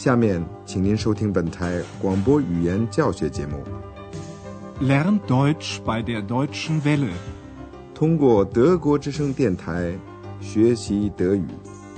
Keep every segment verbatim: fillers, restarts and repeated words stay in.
下面，请您收听本台广播语言教学节目。 Lern Deutsch bei der Deutschen Welle。 通过德国之声电台学习德语。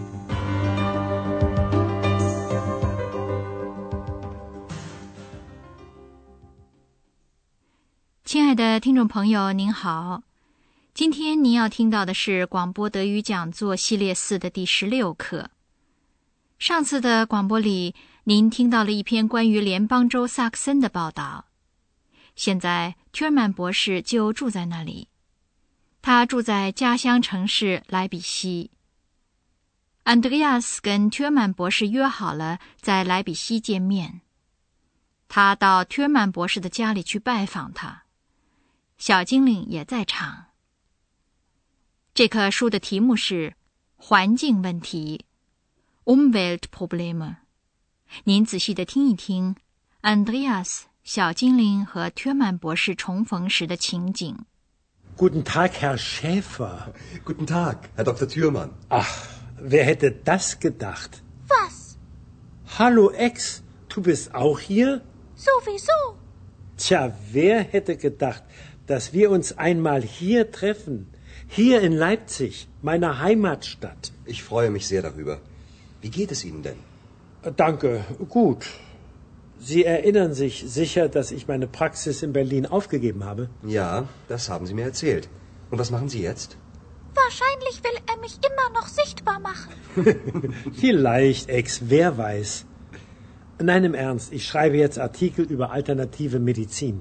亲爱的听众朋友，您好。今天您要听到的是广播德语讲座系列四的第十六课。上次的广播里，您听到了一篇关于联邦州萨克森的报道。现在屈尔曼博士就住在那里，他住在家乡城市莱比锡。安德烈亚斯跟屈尔曼博士约好了在莱比锡见面，他到屈尔曼博士的家里去拜访他，小精灵也在场。这课书的题目是环境问题 Umweltprobleme。 您仔细地听一听安德烈亚斯、小精灵和屈尔曼博士重逢时的情景。 Guten Tag, Herr Schäfer. Guten Tag, Herr Doktor Thürmann. Ach, wer hätte das gedacht? Was? Hallo, Ex, du bist auch hier? Sowieso. Tja, wer hätte gedacht, dass wir uns einmal hier treffen? Hier in Leipzig, meiner Heimatstadt. Ich freue mich sehr darüber. Wie geht es Ihnen denn? Danke, gut. Sie erinnern sich sicher, dass ich meine Praxis in Berlin aufgegeben habe? Ja, das haben Sie mir erzählt. Und was machen Sie jetzt? Wahrscheinlich will er mich immer noch sichtbar machen. Vielleicht, Ex, wer weiß. Nein, im Ernst, ich schreibe jetzt Artikel über alternative Medizin.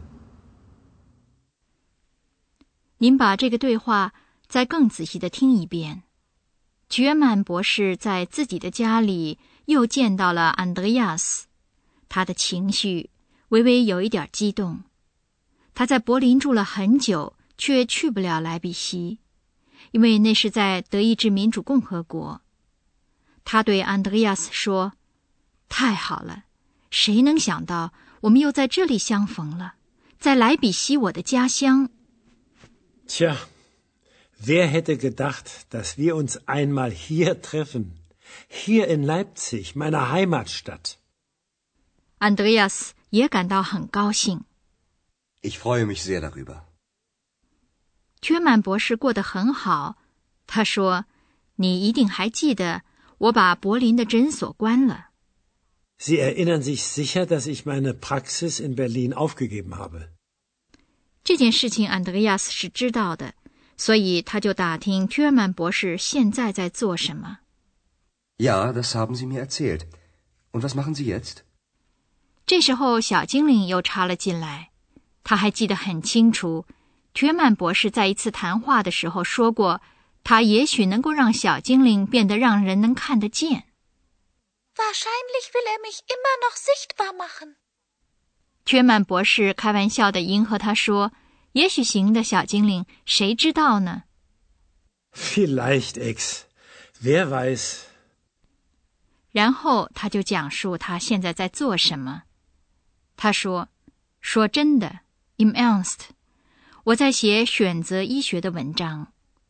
您把这个对话再更仔细地听一遍。屈尔曼博士在自己的家里又见到了安德烈亚斯，他的情绪微微有一点激动。他在柏林住了很久，却去不了莱比锡，因为那是在德意志民主共和国。他对安德烈亚斯说：太好了，谁能想到我们又在这里相逢了，在莱比锡，我的家乡。 Tja, wer hätte gedacht, dass wir uns einmal hier treffen? Hier in Leipzig, meiner Heimatstadt. 安德烈亚斯也感到很高兴。 Ich freue mich sehr darüber. 屈尔曼博士过得很好。他说：你一定还记得，我把柏林的诊所关了。 Sie erinnern sich sicher, dass ich meine Praxis in Berlin aufgegeben habe. 这件事情安德烈亚斯是知道的，所以他就打听屈尔曼博士现在在做什么。 Ja, das haben Sie mir erzählt. Und was machen Sie jetzt? 这时候小精灵又插了进来，他还记得很清楚，屈尔曼博士在一次谈话的时候说过，他也许能够让小精灵变得让人能看得见。 Wahrscheinlich will er mich immer noch sichtbar machen. 屈尔曼博士开玩笑地迎合他说：也许行的，小精灵，谁知道呢？ Vielleicht, Ex, wer weiß. 然后他就讲述他现在在做什么。他说：说真的 im Ernst， 我在写选择医学的文章。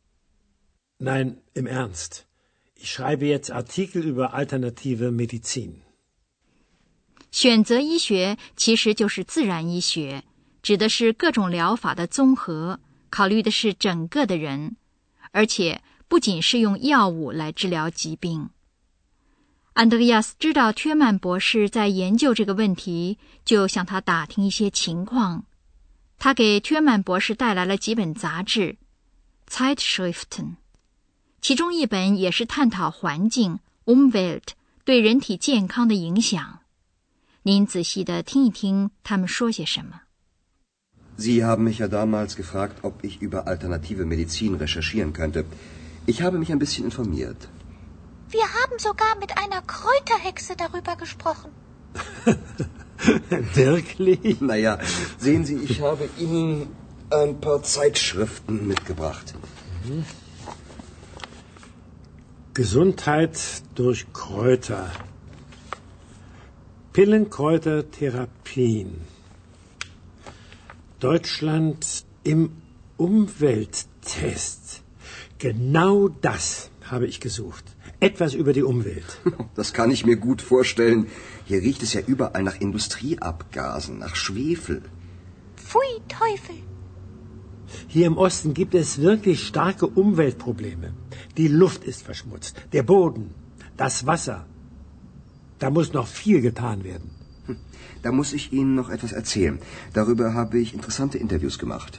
Nein, im Ernst. Ich schreibe jetzt Artikel über alternative Medizin. 选择医学其实就是自然医学，指的是各种疗法的综合，考虑的是整个的人，而且不仅是用药物来治疗疾病。安德烈亚斯知道屈尔曼博士在研究这个问题，就向他打听一些情况。他给屈尔曼博士带来了几本杂志 Zeitschriften， 其中一本也是探讨环境 Umwelt 对人体健康的影响。您仔细地听一听他们说些什么。 Sie haben mich ja damals gefragt, ob ich über alternative Medizin recherchieren könnte. Ich habe mich ein bisschen informiert. Wir haben sogar mit einer Kräuterhexe darüber gesprochen. Wirklich? Naja, sehen Sie, ich habe Ihnen ein paar Zeitschriften mitgebracht. Mhm. Gesundheit durch Kräuter. Pillenkräutertherapien. Deutschland im Umwelttest. Genau das habe ich gesucht. Etwas über die Umwelt. Das kann ich mir gut vorstellen. Hier riecht es ja überall nach Industrieabgasen, nach Schwefel. Pfui, Teufel. Hier im Osten gibt es wirklich starke Umweltprobleme. Die Luft ist verschmutzt, der Boden, das Wasser. Da muss noch viel getan werden. Hm. Da muss ich Ihnen noch etwas erzählen. Darüber habe ich interessante Interviews gemacht.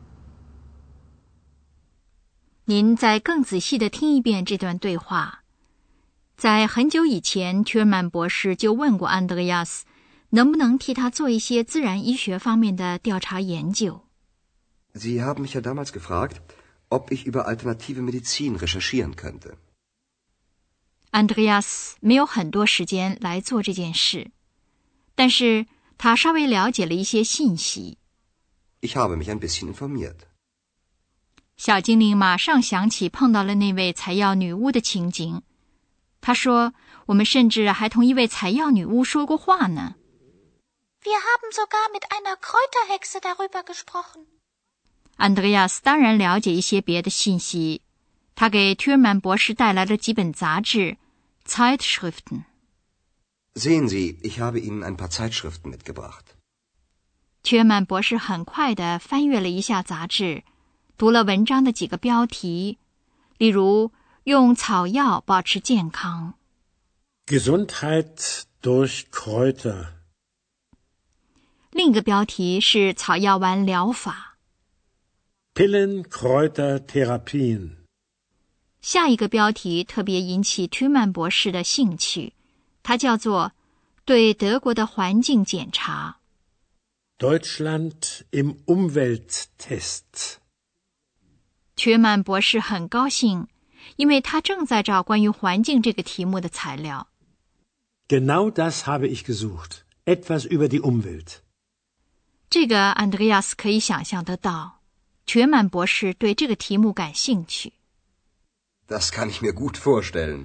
您再更仔细地听一遍这段对话。在很久以前，屈尔曼博士就问过安德烈亚斯，能不能替他做一些自然医学方面的调查研究。 Sie haben mich ja damals gefragt, ob ich über alternative Medizin recherchieren könnte. 安德烈亚斯没有很多时间来做这件事，但是他稍微了解了一些信息。 Ich habe mich ein bisschen informiert. 小精灵马上想起碰到了那位采药女巫的情景。他说，我们甚至还同一位采药女巫说过话呢。 Wir haben sogar mit einer Kräuterhexe darüber gesprochen. 安德烈亚斯当然了解一些别的信息，他给屈尔曼博士带来了几本杂志 Zeitschriften. Sehen Sie, ich habe Ihnen ein paar Zeitschriften mitgebracht. 屈尔曼博士很快地翻阅了一下杂志，读了文章的几个标题，例如用草药保持健康 Gesundheit durch Kräuter. 另一个标题是草药丸疗法 Pillen, Kräuter, Therapien. 下一个标题特别引起屈曼博士的兴趣，它叫做对德国的环境检查 Deutschland im Umwelttest. 屈曼博士很高兴，因为他正在找关于环境这个题目的材料。 Genau das habe ich gesucht. Etwas über die Umwelt. 这个安德烈亚斯可以想象得到，屈曼博士对这个题目感兴趣。 Das kann ich mir gut vorstellen.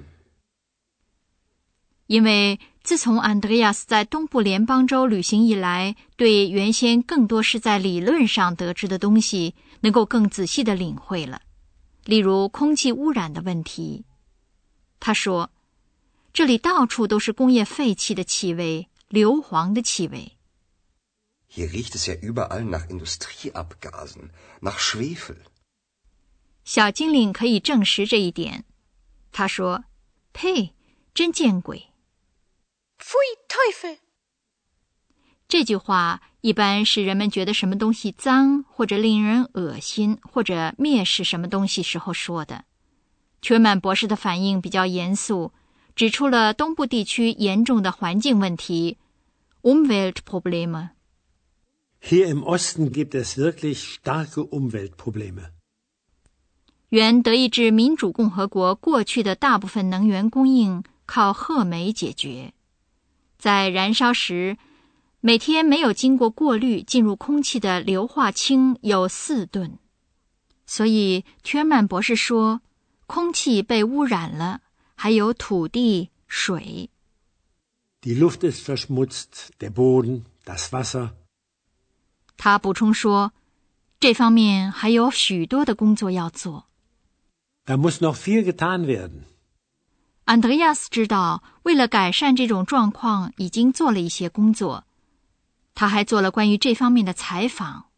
因为自从安德烈亚斯在东部联邦州旅行以来，对原先更多是在理论上得知的东西能够更仔细地领会了，例如空气污染的问题。他说，这里到处都是工业废气的气味，硫磺的气味。 Hier riecht es ja überall nach Industrieabgasen, nach Schwefel. 小精灵可以证实这一点。他说，呸，真见鬼。 Pfui, Teufel! 这句话一般是人们觉得什么东西脏，或者令人恶心，或者蔑视什么东西时候说的。屈曼博士的反应比较严肃，指出了东部地区严重的环境问题 Umweltprobleme. Hier im Osten gibt es wirklich starke Umweltprobleme. 原德意志民主共和国过去的大部分能源供应靠褐煤解决，在燃烧时，每天没有经过过滤进入空气的硫化氢有四吨。所以屈曼博士说，空气被污染了，还有土地、水。 Die Luft ist verschmutzt, der Boden, das Wasser. 他补充说，这方面还有许多的工作要做。 Da muss noch viel getan werden. 安德烈亚斯知道，为了改善这种状况，已经做了一些工作。他还做了关于这方面的采访。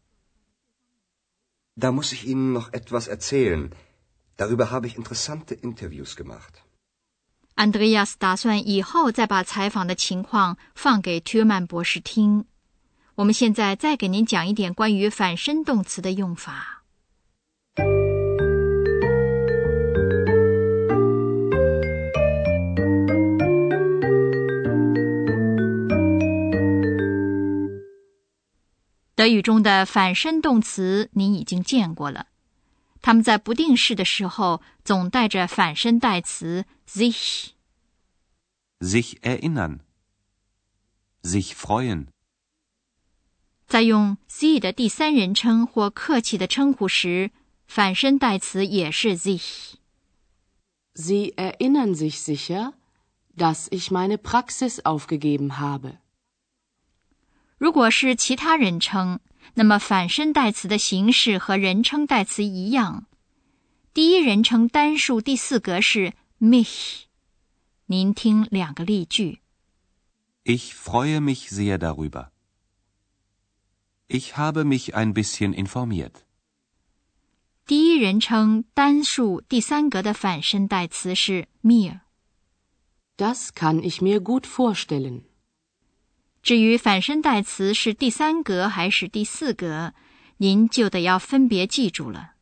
Da muss ich Ihnen noch etwas erzählen. Darüber habe ich interessante Interviews gemacht. 安德烈亚斯打算以后再把采访的情况放给屈曼博士听。我们现在再给您讲一点关于反身动词的用法。德语中的反身动词您已经见过了，它们在不定式的时候总带着反身代词 sich. Sich erinnern. Sich freuen. 在用 sie 的第三人称或客气的称呼时，反身代词也是 sich. Sie erinnern sich sicher, dass ich meine Praxis aufgegeben habe. 如果是其他人称，那么反身代词的形式和人称代词一样。第一人称单数第四格是 mich。您听两个例句。 Ich freue mich sehr darüber. Ich habe mich ein bisschen informiert. 第一人称单数第三格的反身代词是 mir。 Das kann ich mir gut vorstellen. 至于反身代词是第三格还是第四格，您就得要分别记住了。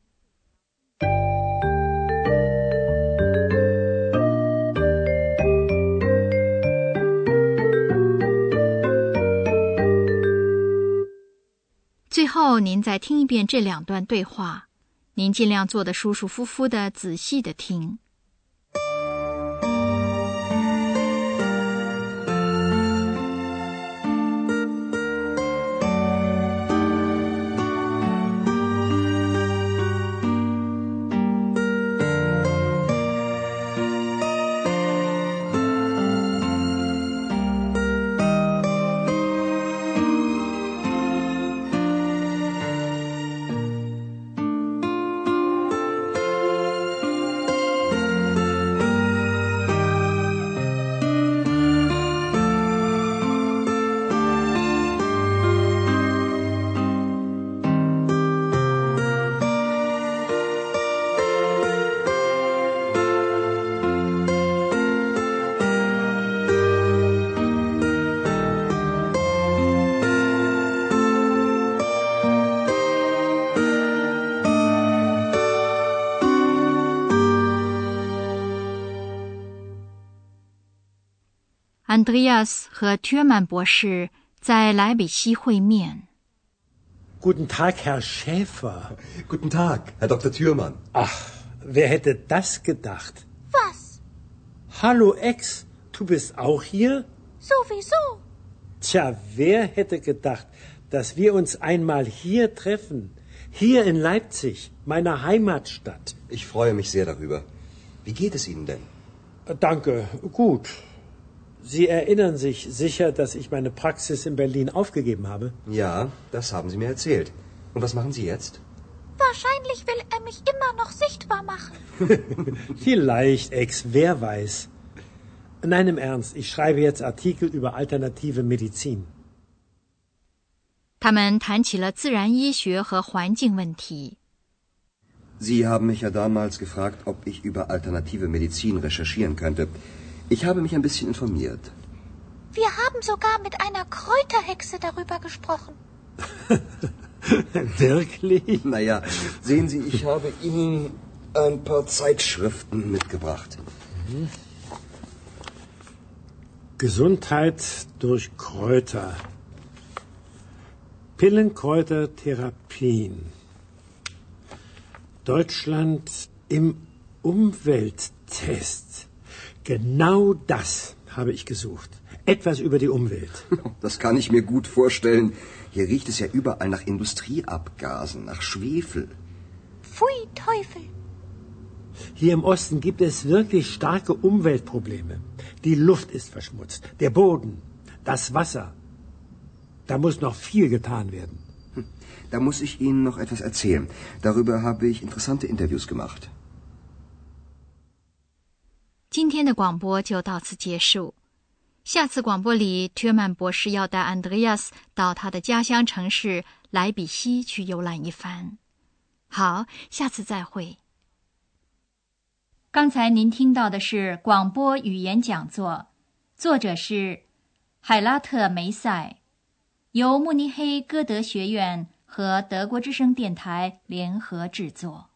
最后，您再听一遍这两段对话，您尽量坐得舒舒服服的，仔细的听。Andreas 和 Thürmann 博士在莱比锡会面。 Guten Tag, Herr Schäfer. Guten Tag, Herr Doktor Thürmann. Ach, wer hätte das gedacht? Was? Hallo, Ex, du bist auch hier? Sowieso. Tja, wer hätte gedacht, dass wir uns einmal hier treffen? Hier in Leipzig, meiner Heimatstadt. Ich freue mich sehr darüber. Wie geht es Ihnen denn? Danke, gut. Sie erinnern sich sicher, dass ich meine Praxis in Berlin aufgegeben habe? Ja, das haben Sie mir erzählt. Und was machen Sie jetzt? Wahrscheinlich will er mich immer noch sichtbar machen. Vielleicht, Ex, wer weiß. Nein, im Ernst, ich schreibe jetzt Artikel über alternative Medizin. 他们谈起了自然医学和环境问题。 Sie haben mich ja damals gefragt, ob ich über alternative Medizin recherchieren könnte. Ich habe mich ein bisschen informiert. Wir haben sogar mit einer Kräuterhexe darüber gesprochen. Wirklich? Naja, sehen Sie, ich habe Ihnen ein paar Zeitschriften mitgebracht. Mhm. Gesundheit durch Kräuter. Pillenkräutertherapien. Deutschland im Umwelttest. Genau das habe ich gesucht. Etwas über die Umwelt. Das kann ich mir gut vorstellen. Hier riecht es ja überall nach Industrieabgasen, nach Schwefel. Pfui, Teufel. Hier im Osten gibt es wirklich starke Umweltprobleme. Die Luft ist verschmutzt, der Boden, das Wasser. Da muss noch viel getan werden. Da muss ich Ihnen noch etwas erzählen. Darüber habe ich interessante Interviews gemacht. 今天的广播就到此结束。下次广播里，ทื尔曼博士要带 Andreas 到他的家乡城市莱比锡去游览一番。好，下次再会。刚才您听到的是广播语言讲座，作者是海拉特梅塞，由慕尼黑歌德学院和德国之声电台联合制作。